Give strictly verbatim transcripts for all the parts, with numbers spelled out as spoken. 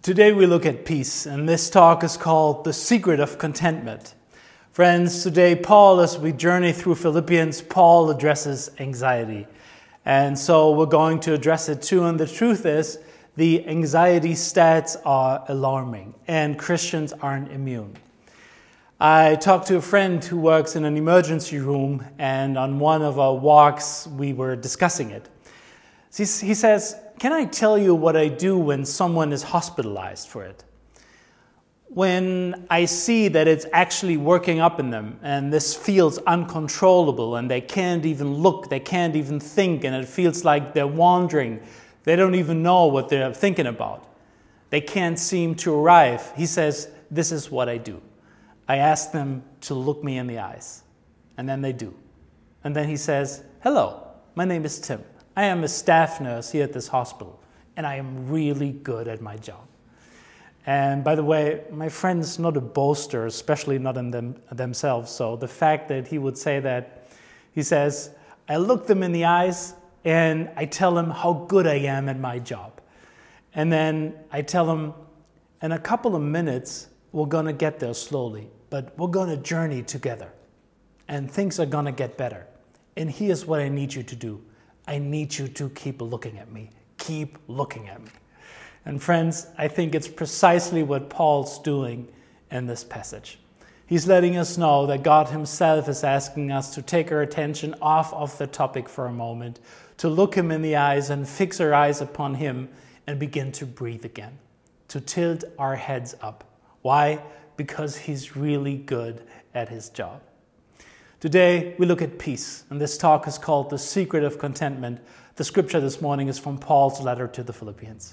Today we look at peace, and this talk is called The Secret of Contentment. Friends, today Paul, as we journey through Philippians, Paul addresses anxiety. And so we're going to address it too, and the truth is, the anxiety stats are alarming, and Christians aren't immune. I talked to a friend who works in an emergency room, and on one of our walks, we were discussing it. He says, "Can I tell you what I do when someone is hospitalized for it? When I see that it's actually working up in them, and this feels uncontrollable, and they can't even look, they can't even think, and it feels like they're wandering. They don't even know what they're thinking about. They can't seem to arrive." He says, "This is what I do. I ask them to look me in the eyes." And then they do. And then he says, "Hello, my name is Tim. I am a staff nurse here at this hospital, and I am really good at my job." And by the way, my friend's not a boaster, especially not in them, themselves. So the fact that he would say that, he says, "I look them in the eyes and I tell them how good I am at my job. And then I tell them, in a couple of minutes, we're going to get there slowly, but we're going to journey together. And things are going to get better. And here's what I need you to do. I need you to keep looking at me. Keep looking at me." And friends, I think it's precisely what Paul's doing in this passage. He's letting us know that God himself is asking us to take our attention off of the topic for a moment, to look him in the eyes and fix our eyes upon him and begin to breathe again, to tilt our heads up. Why? Because he's really good at his job. Today, we look at peace, and this talk is called The Secret of Contentment. The scripture this morning is from Paul's letter to the Philippians.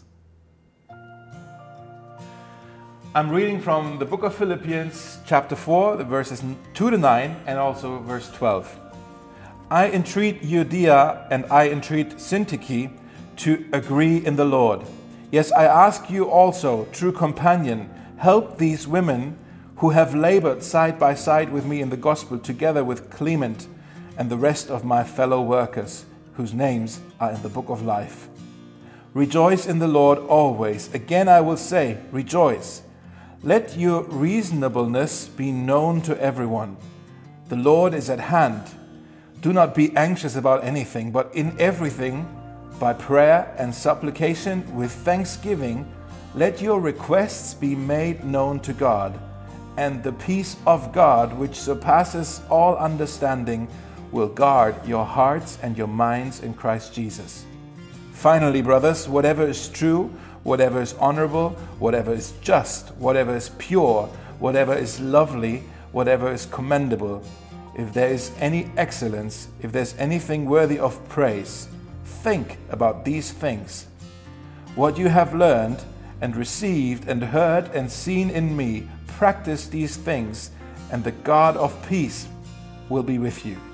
I'm reading from the book of Philippians, chapter four, the verses two to nine, and also verse twelve. "I entreat Euodia and I entreat Syntyche to agree in the Lord. Yes, I ask you also, true companion, help these women who have labored side by side with me in the gospel, together with Clement and the rest of my fellow workers, whose names are in the book of life. Rejoice in the Lord always. Again I will say, rejoice. Let your reasonableness be known to everyone. The Lord is at hand. Do not be anxious about anything, but in everything, by prayer and supplication with thanksgiving, let your requests be made known to God. And the peace of God, which surpasses all understanding, will guard your hearts and your minds in Christ Jesus. Finally, brothers, whatever is true, whatever is honorable, whatever is just, whatever is pure, whatever is lovely, whatever is commendable, if there is any excellence, if there's anything worthy of praise, think about these things. What you have learned and received and heard and seen in me, practice these things, and the God of peace will be with you.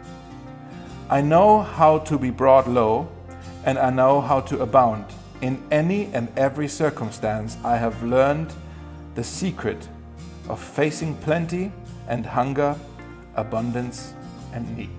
I know how to be brought low, and I know how to abound. In any and every circumstance, I have learned the secret of facing plenty and hunger, abundance and need."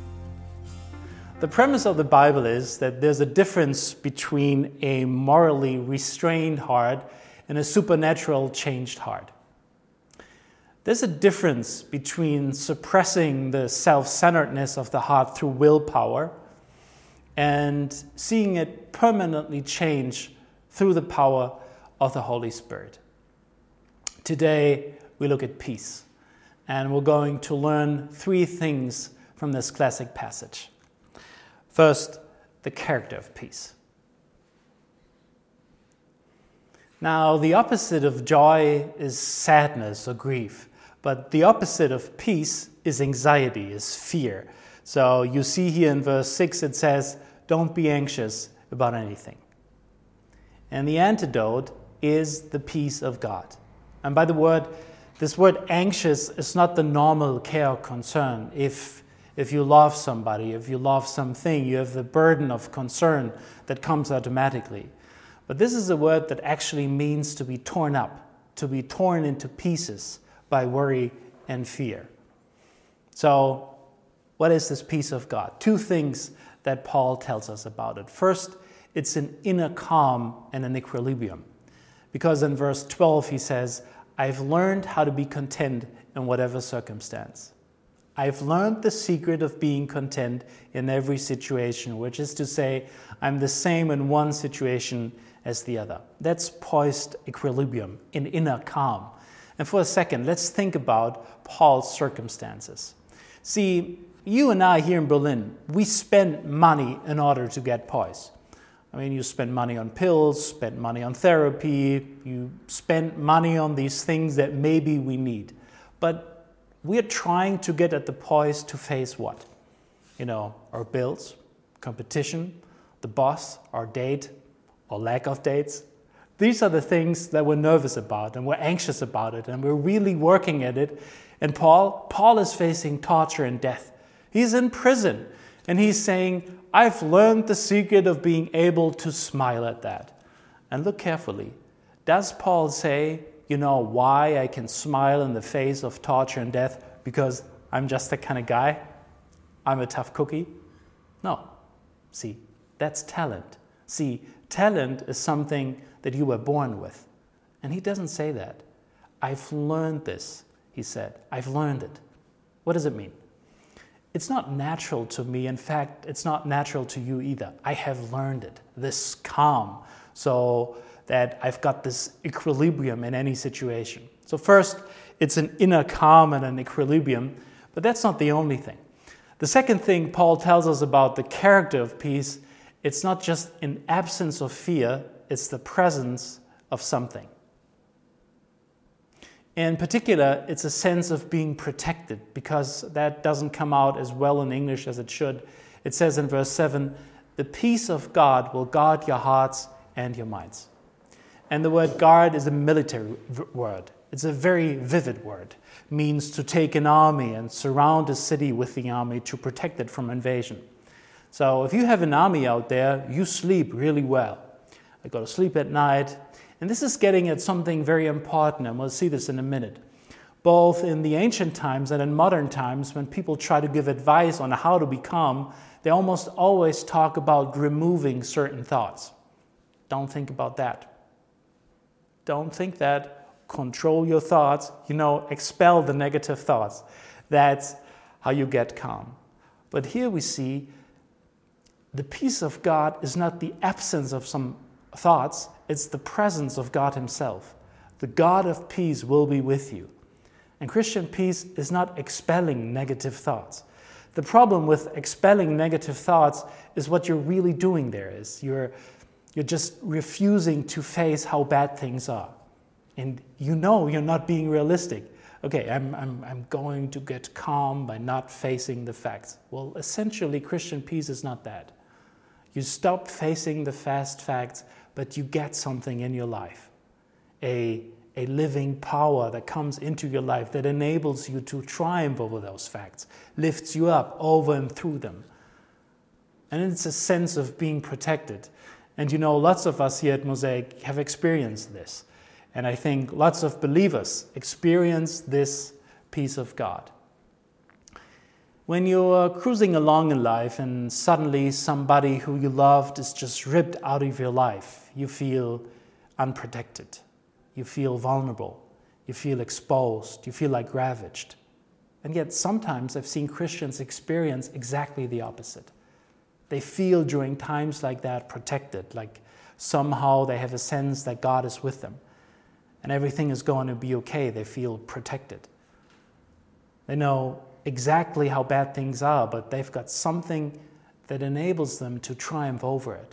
The premise of the Bible is that there's a difference between a morally restrained heart and a supernatural changed heart. There's a difference between suppressing the self-centeredness of the heart through willpower and seeing it permanently change through the power of the Holy Spirit. Today, we look at peace, and we're going to learn three things from this classic passage. First, the character of peace. Now, the opposite of joy is sadness or grief, but the opposite of peace is anxiety, is fear. So you see here in verse six, it says, "Don't be anxious about anything." And the antidote is the peace of God. And by the word, this word anxious is not the normal care or concern. If, if you love somebody, if you love something, you have the burden of concern that comes automatically. But this is a word that actually means to be torn up, to be torn into pieces by worry and fear. So, what is this peace of God? Two things that Paul tells us about it. First, it's an inner calm and an equilibrium. Because in verse twelve he says, I've learned how to be content in whatever circumstance. I've learned the secret of being content in every situation, which is to say, I'm the same in one situation as the other. That's poised equilibrium, an inner calm. And for a second, let's think about Paul's circumstances. See, you and I here in Berlin, we spend money in order to get poise. I mean, you spend money on pills, spend money on therapy, you spend money on these things that maybe we need. But we're trying to get at the poise to face what? You know, our bills, competition, the boss, our date, or lack of dates. These are the things that we're nervous about and we're anxious about it and we're really working at it. And Paul, Paul is facing torture and death. He's in prison and he's saying, I've learned the secret of being able to smile at that. And look carefully. Does Paul say, you know why I can smile in the face of torture and death? Because I'm just that kind of guy? I'm a tough cookie? No. See, that's talent. See, talent is something that you were born with. And he doesn't say that. I've learned this, he said. I've learned it. What does it mean? It's not natural to me. In fact, it's not natural to you either. I have learned it, this calm, so that I've got this equilibrium in any situation. So first, it's an inner calm and an equilibrium, but that's not the only thing. The second thing Paul tells us about the character of peace, it's not just an absence of fear, it's the presence of something. In particular, it's a sense of being protected, because that doesn't come out as well in English as it should. It says in verse seven, the peace of God will guard your hearts and your minds. And the word guard is a military v- word. It's a very vivid word. It means to take an army and surround a city with the army to protect it from invasion. So if you have an army out there, you sleep really well. I go to sleep at night. And this is getting at something very important, and we'll see this in a minute. Both in the ancient times and in modern times, when people try to give advice on how to be calm, they almost always talk about removing certain thoughts. Don't think about that. Don't think that. Control your thoughts. You know, expel the negative thoughts. That's how you get calm. But here we see the peace of God is not the absence of some thoughts, it's the presence of God himself. The God of peace will be with you. And Christian peace is not expelling negative thoughts. The problem with expelling negative thoughts is what you're really doing there is you're, you're just refusing to face how bad things are. And you know you're not being realistic. Okay, I'm, I'm, I'm going to get calm by not facing the facts. Well, essentially, Christian peace is not that. You stop facing the fast facts, but you get something in your life, a, a living power that comes into your life that enables you to triumph over those facts, lifts you up over and through them. And it's a sense of being protected. And you know, lots of us here at Mosaic have experienced this. And I think lots of believers experience this peace of God. When you're cruising along in life and suddenly somebody who you loved is just ripped out of your life, you feel unprotected. You feel vulnerable. You feel exposed. You feel like ravaged. And yet sometimes I've seen Christians experience exactly the opposite. They feel during times like that protected, like somehow they have a sense that God is with them. And everything is going to be okay. They feel protected. They know exactly how bad things are, but they've got something that enables them to triumph over it.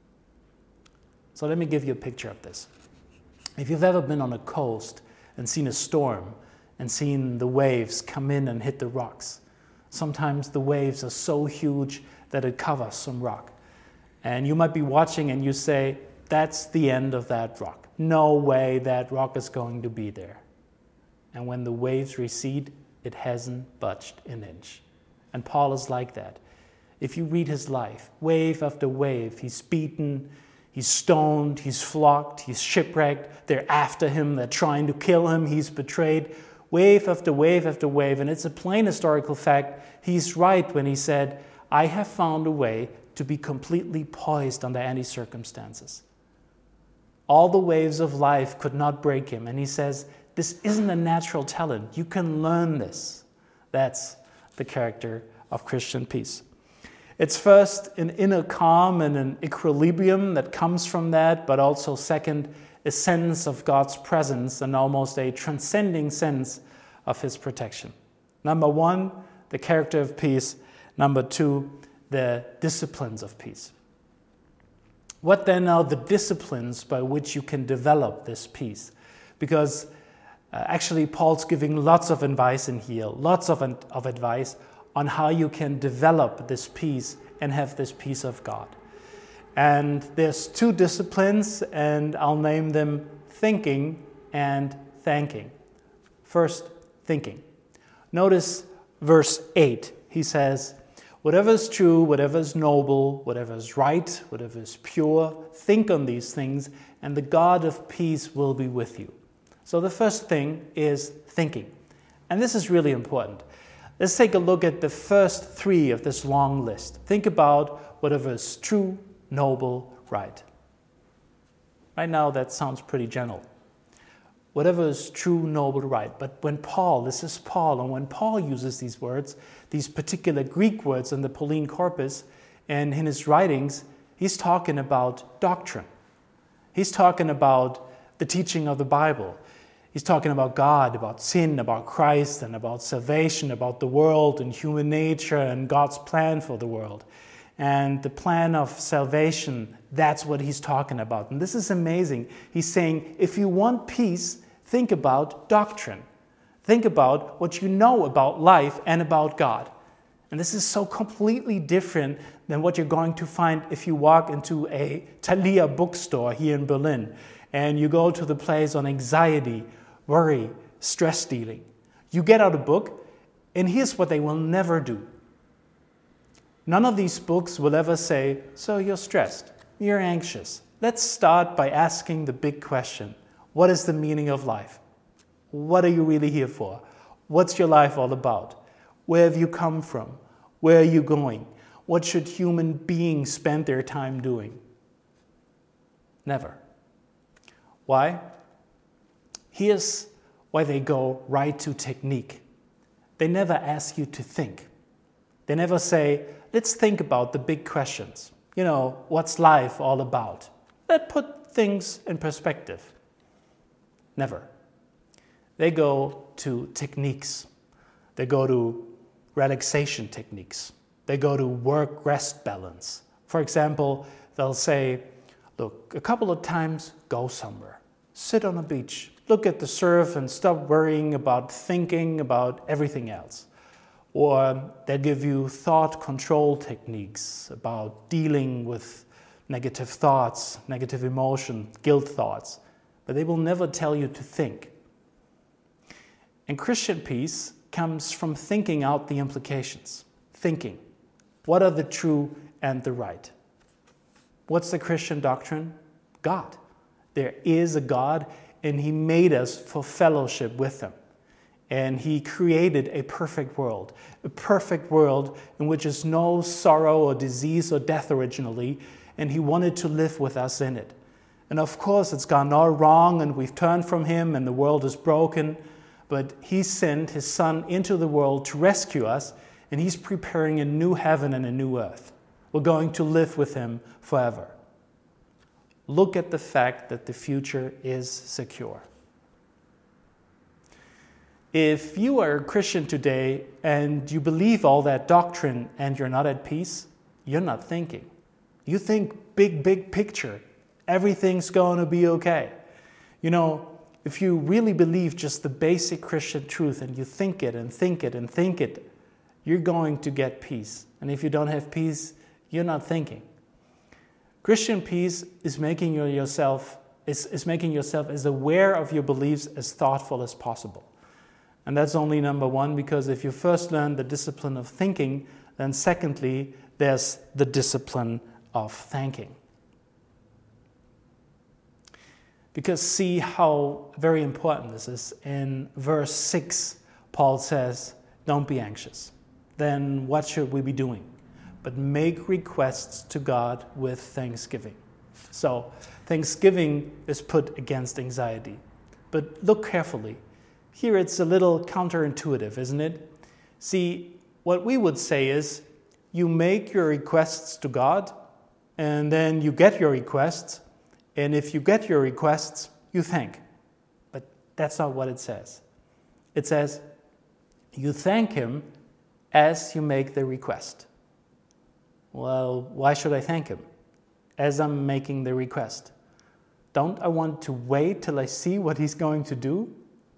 So let me give you a picture of this. If you've ever been on a coast and seen a storm and seen the waves come in and hit the rocks, sometimes the waves are so huge that it covers some rock. And you might be watching and you say, that's the end of that rock. No way that rock is going to be there. And when the waves recede, it hasn't budged an inch. And Paul is like that. If you read his life, wave after wave, he's beaten, he's stoned, he's flogged, he's shipwrecked, they're after him, they're trying to kill him, he's betrayed. Wave after wave after wave, and it's a plain historical fact. He's right when he said, I have found a way to be completely poised under any circumstances. All the waves of life could not break him. And he says, this isn't a natural talent. You can learn this. That's the character of Christian peace. It's first an inner calm and an equilibrium that comes from that, but also second, a sense of God's presence and almost a transcending sense of his protection. Number one, the character of peace. Number two, the disciplines of peace. What then are the disciplines by which you can develop this peace? Because uh, actually Paul's giving lots of advice in here, lots of, of advice on how you can develop this peace and have this peace of God. And there's two disciplines, and I'll name them thinking and thanking. First, thinking. Notice verse eight. He says, whatever is true, whatever is noble, whatever is right, whatever is pure, think on these things, and the God of peace will be with you. So the first thing is thinking. And this is really important. Let's take a look at the first three of this long list. Think about whatever is true, noble, right. Right now that sounds pretty general. Whatever is true, noble, right. But when Paul, this is Paul, and when Paul uses these words, these particular Greek words in the Pauline corpus, and in his writings, he's talking about doctrine. He's talking about the teaching of the Bible. He's talking about God, about sin, about Christ, and about salvation, about the world and human nature and God's plan for the world. And the plan of salvation, that's what he's talking about. And this is amazing. He's saying, if you want peace, think about doctrine. Think about what you know about life and about God. And this is so completely different than what you're going to find if you walk into a Thalia bookstore here in Berlin and you go to the place on anxiety, worry, stress dealing. You get out a book, and here's what they will never do. None of these books will ever say, so you're stressed, you're anxious. Let's start by asking the big question. What is the meaning of life? What are you really here for? What's your life all about? Where have you come from? Where are you going? What should human beings spend their time doing? Never. Why? Here's why they go right to technique. They never ask you to think. They never say, let's think about the big questions. You know, what's life all about? Let's put things in perspective. Never. They go to techniques. They go to relaxation techniques. They go to work-rest balance. For example, they'll say, look, a couple of times, go somewhere. Sit on a beach. Look at the surf and stop worrying about thinking about everything else. Or they give you thought control techniques about dealing with negative thoughts, negative emotion, guilt thoughts. But they will never tell you to think. And Christian peace comes from thinking out the implications. Thinking. What are the true and the right? What's the Christian doctrine? God. There is a God, and He made us for fellowship with Him. And He created a perfect world, a perfect world in which is no sorrow or disease or death originally, and He wanted to live with us in it. And of course, it's gone all wrong, and we've turned from Him, and the world is broken, but He sent His Son into the world to rescue us, and He's preparing a new heaven and a new earth. We're going to live with Him forever. Look at the fact that the future is secure. If you are a Christian today and you believe all that doctrine and you're not at peace, you're not thinking. You think big, big picture. Everything's going to be okay. You know, if you really believe just the basic Christian truth and you think it and think it and think it, you're going to get peace. And if you don't have peace, you're not thinking. Christian peace is making yourself is, is making yourself as aware of your beliefs as thoughtful as possible. And that's only number one, because if you first learn the discipline of thinking, then secondly, there's the discipline of thanking. Because see how very important this is. In verse six, Paul says, don't be anxious. Then what should we be doing? But make requests to God with thanksgiving. So thanksgiving is put against anxiety. But look carefully. Here it's a little counterintuitive, isn't it? See, what we would say is, you make your requests to God, and then you get your requests, and if you get your requests, you thank. But that's not what it says. It says, you thank Him as you make the request. Well, why should I thank Him as I'm making the request? Don't I want to wait till I see what He's going to do?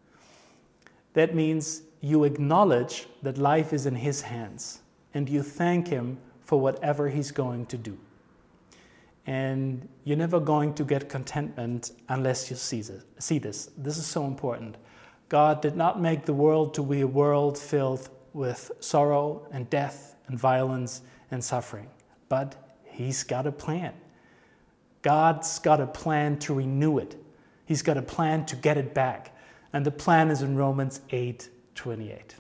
That means you acknowledge that life is in His hands, and you thank Him for whatever He's going to do. And you're never going to get contentment unless you see this. See this. This is so important. God did not make the world to be a world filled with sorrow and death and violence and suffering. But He's got a plan. God's got a plan to renew it. He's got a plan to get it back. And the plan is in Romans eight twenty-eight.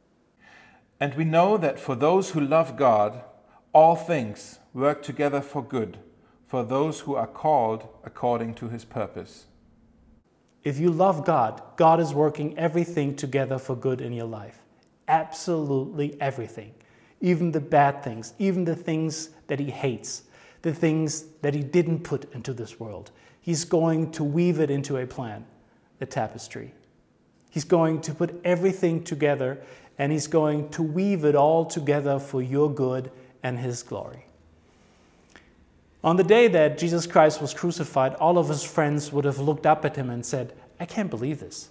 And we know that for those who love God, all things work together for good, for those who are called according to His purpose. If you love God, God is working everything together for good in your life. Absolutely everything. Even the bad things, even the things that He hates, the things that He didn't put into this world. He's going to weave it into a plan, a tapestry. He's going to put everything together, and He's going to weave it all together for your good and His glory. On the day that Jesus Christ was crucified, all of His friends would have looked up at Him and said, I can't believe this.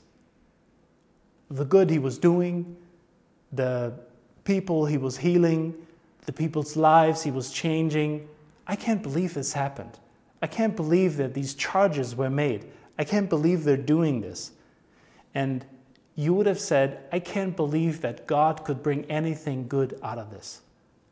The good He was doing, the people He was healing, the people's lives He was changing, I can't believe this happened. I can't believe that these charges were made. I can't believe they're doing this. And you would have said, I can't believe that God could bring anything good out of this.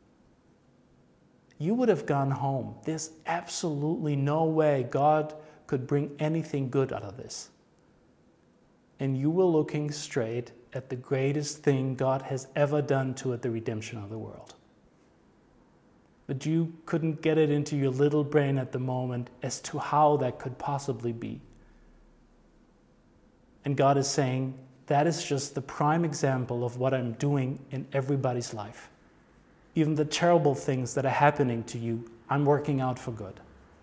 You would have gone home. There's absolutely no way God could bring anything good out of this. And you were looking straight at the greatest thing God has ever done to it, the redemption of the world. But you couldn't get it into your little brain at the moment as to how that could possibly be. And God is saying, that is just the prime example of what I'm doing in everybody's life. Even the terrible things that are happening to you, I'm working out for good.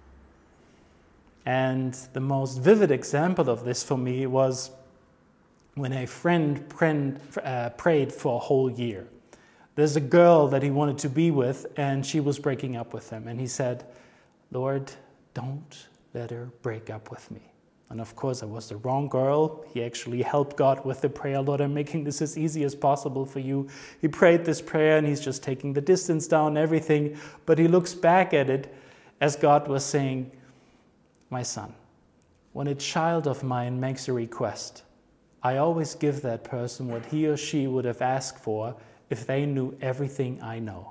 And the most vivid example of this for me was when a friend prayed for a whole year. There's a girl that he wanted to be with, and she was breaking up with him. And he said, Lord, don't let her break up with me. And of course, I was the wrong girl. He actually helped God with the prayer. Lord, I'm making this as easy as possible for you. He prayed this prayer, and he's just taking the distance down and everything. But he looks back at it as God was saying, my son, when a child of mine makes a request, I always give that person what he or she would have asked for if they knew everything I know.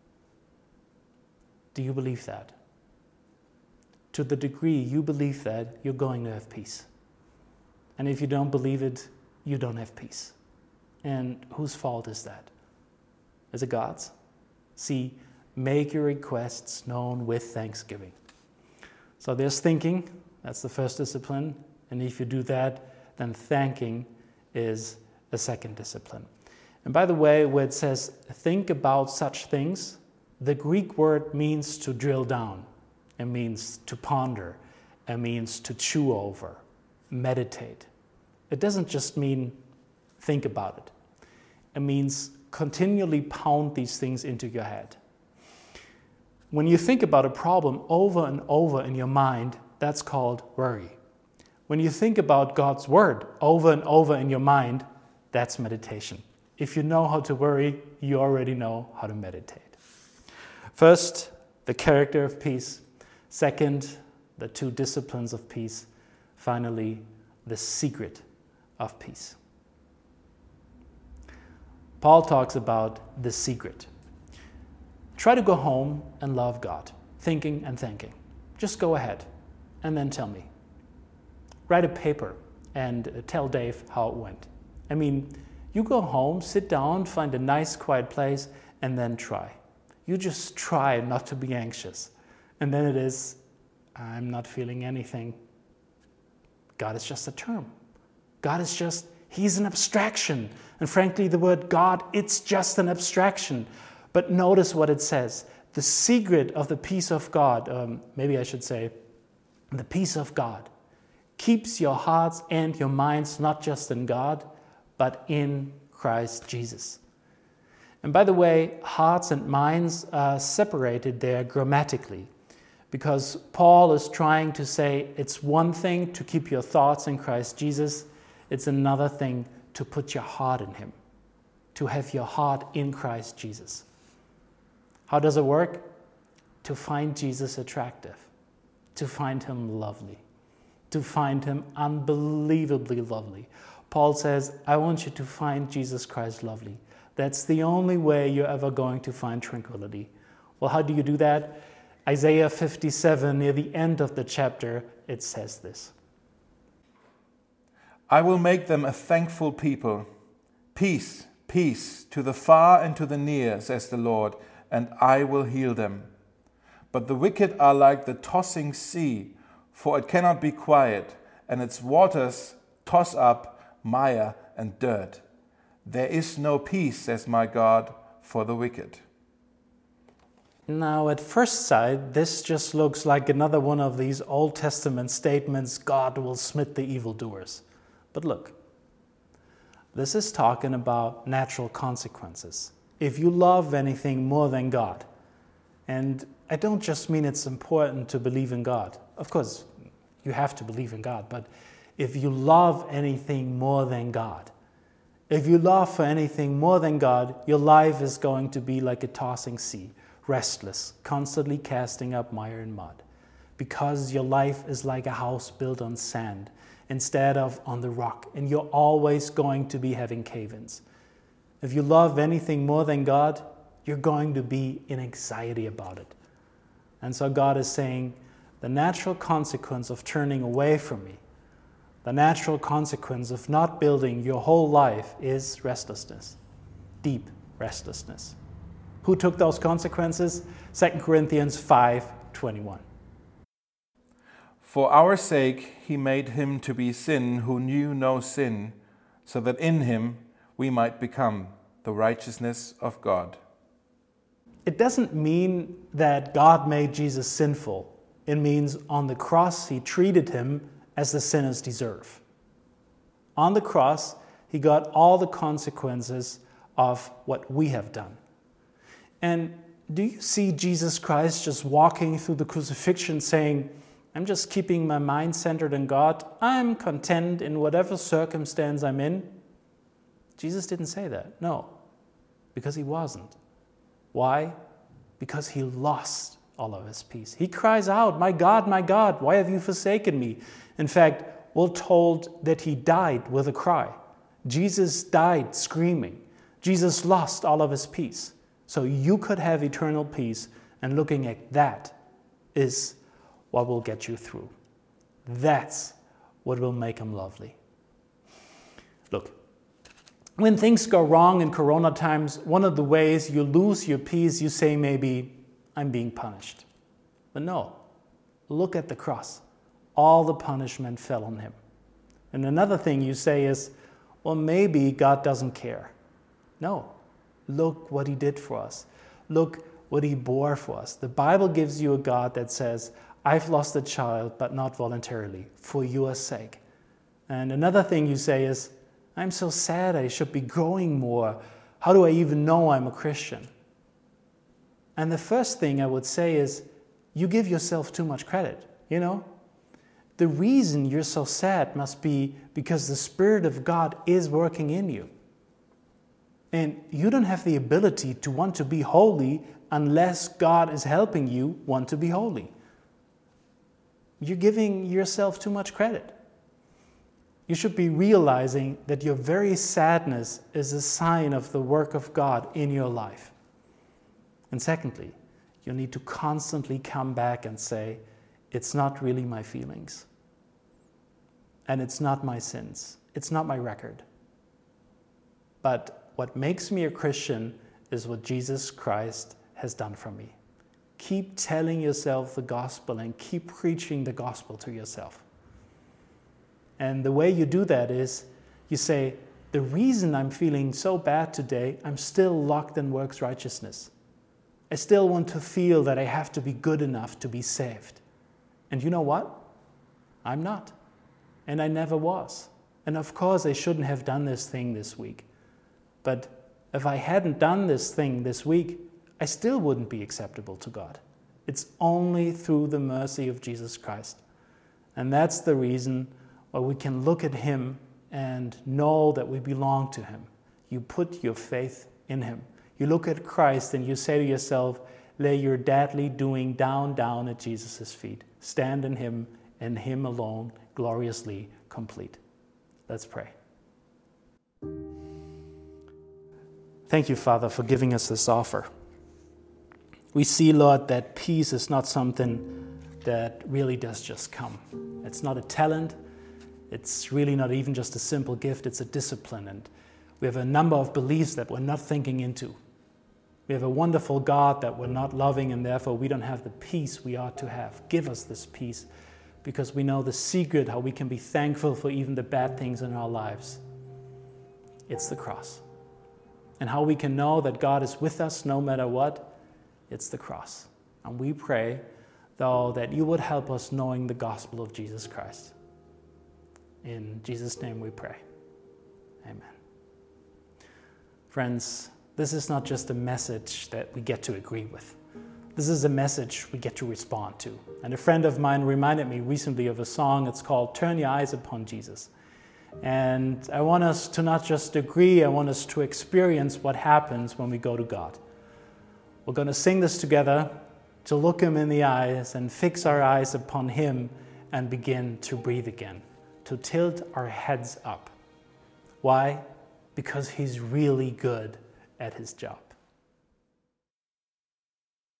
Do you believe that? To the degree you believe that, you're going to have peace. And if you don't believe it, you don't have peace. And whose fault is that? Is it God's? See, make your requests known with thanksgiving. So there's thinking, that's the first discipline. And if you do that, then thanking is the second discipline. And by the way, where it says, think about such things, the Greek word means to drill down. It means to ponder. It means to chew over, meditate. It doesn't just mean think about it. It means continually pound these things into your head. When you think about a problem over and over in your mind, that's called worry. When you think about God's word over and over in your mind, that's meditation. If you know how to worry, you already know how to meditate. First, the character of peace. Second, the two disciplines of peace. Finally, the secret of peace. Paul talks about the secret. Try to go home and love God, thinking and thanking. Just go ahead and then tell me. Write a paper and tell Dave how it went. I mean, you go home, sit down, find a nice quiet place, and then try. You just try not to be anxious. And then it is I'm not feeling anything. God is just a term. God is just, he's an abstraction. And frankly, the word God, it's just an abstraction. But notice what it says. The secret of the peace of God, um, maybe I should say, the peace of God keeps your hearts and your minds not just in God, but in Christ Jesus. And by the way, hearts and minds are separated there grammatically, because Paul is trying to say it's one thing to keep your thoughts in Christ Jesus, it's another thing to put your heart in him, to have your heart in Christ Jesus. How does it work? To find Jesus attractive, to find him lovely, to find him unbelievably lovely. Paul says, I want you to find Jesus Christ lovely. That's the only way you're ever going to find tranquility. Well, how do you do that? Isaiah fifty-seven, near the end of the chapter, it says this. I will make them a thankful people. Peace, peace to the far and to the near, says the Lord, and I will heal them. But the wicked are like the tossing sea, for it cannot be quiet, and its waters toss up mire and dirt. There is no peace, says my God, for the wicked. Now, at first sight, this just looks like another one of these Old Testament statements, God will smite the evildoers. But look, this is talking about natural consequences. If you love anything more than God, and I don't just mean it's important to believe in God. Of course, you have to believe in God, but if you love anything more than God, if you love for anything more than God, your life is going to be like a tossing sea, restless, constantly casting up mire and mud, because your life is like a house built on sand instead of on the rock, and you're always going to be having cave-ins. If you love anything more than God, you're going to be in anxiety about it. And so God is saying, the natural consequence of turning away from me, the natural consequence of not building your whole life is restlessness, deep restlessness. Who took those consequences? Second Corinthians five twenty-one. For our sake he made him to be sin who knew no sin, so that in him we might become the righteousness of God. It doesn't mean that God made Jesus sinful. It means on the cross he treated him as the sinners deserve. On the cross, he got all the consequences of what we have done. And do you see Jesus Christ just walking through the crucifixion saying, I'm just keeping my mind centered in God. I'm content in whatever circumstance I'm in? Jesus didn't say that. No, because he wasn't. Why? Because he lost all of his peace. He cries out, my God, my God, why have you forsaken me? In fact, we're told that he died with a cry. Jesus died screaming. Jesus lost all of his peace. So you could have eternal peace, and looking at that is what will get you through. That's what will make him lovely. Look, when things go wrong in Corona times, one of the ways you lose your peace, you say maybe, I'm being punished. But no, look at the cross. All the punishment fell on him. And another thing you say is, well, maybe God doesn't care. No, look what he did for us. Look what he bore for us. The Bible gives you a God that says, I've lost a child, but not voluntarily, for your sake. And another thing you say is, I'm so sad, I should be growing more. How do I even know I'm a Christian? And the first thing I would say is, you give yourself too much credit, you know? The reason you're so sad must be because the Spirit of God is working in you. And you don't have the ability to want to be holy unless God is helping you want to be holy. You're giving yourself too much credit. You should be realizing that your very sadness is a sign of the work of God in your life. And secondly, you need to constantly come back and say, it's not really my feelings. And it's not my sins. It's not my record. But what makes me a Christian is what Jesus Christ has done for me. Keep telling yourself the gospel and keep preaching the gospel to yourself. And the way you do that is you say, the reason I'm feeling so bad today, I'm still locked in works righteousness. I still want to feel that I have to be good enough to be saved. And you know what? I'm not. And I never was. And of course, I shouldn't have done this thing this week. But if I hadn't done this thing this week, I still wouldn't be acceptable to God. It's only through the mercy of Jesus Christ. And that's the reason why we can look at him and know that we belong to him. You put your faith in him. You look at Christ and you say to yourself, lay your deadly doing down, down at Jesus' feet. Stand in him and him alone, gloriously complete. Let's pray. Thank you, Father, for giving us this offer. We see, Lord, that peace is not something that really does just come. It's not a talent. It's really not even just a simple gift. It's a discipline. And we have a number of beliefs that we're not thinking into. We have a wonderful God that we're not loving, and therefore we don't have the peace we ought to have. Give us this peace, because we know the secret how we can be thankful for even the bad things in our lives. It's the cross. And how we can know that God is with us no matter what, it's the cross. And we pray, though, that you would help us knowing the gospel of Jesus Christ. In Jesus' name we pray. Amen. Friends, this is not just a message that we get to agree with. This is a message we get to respond to. And a friend of mine reminded me recently of a song. It's called Turn Your Eyes Upon Jesus. And I want us to not just agree, I want us to experience what happens when we go to God. We're going to sing this together, to look him in the eyes and fix our eyes upon him and begin to breathe again, to tilt our heads up. Why? Because he's really good at his job.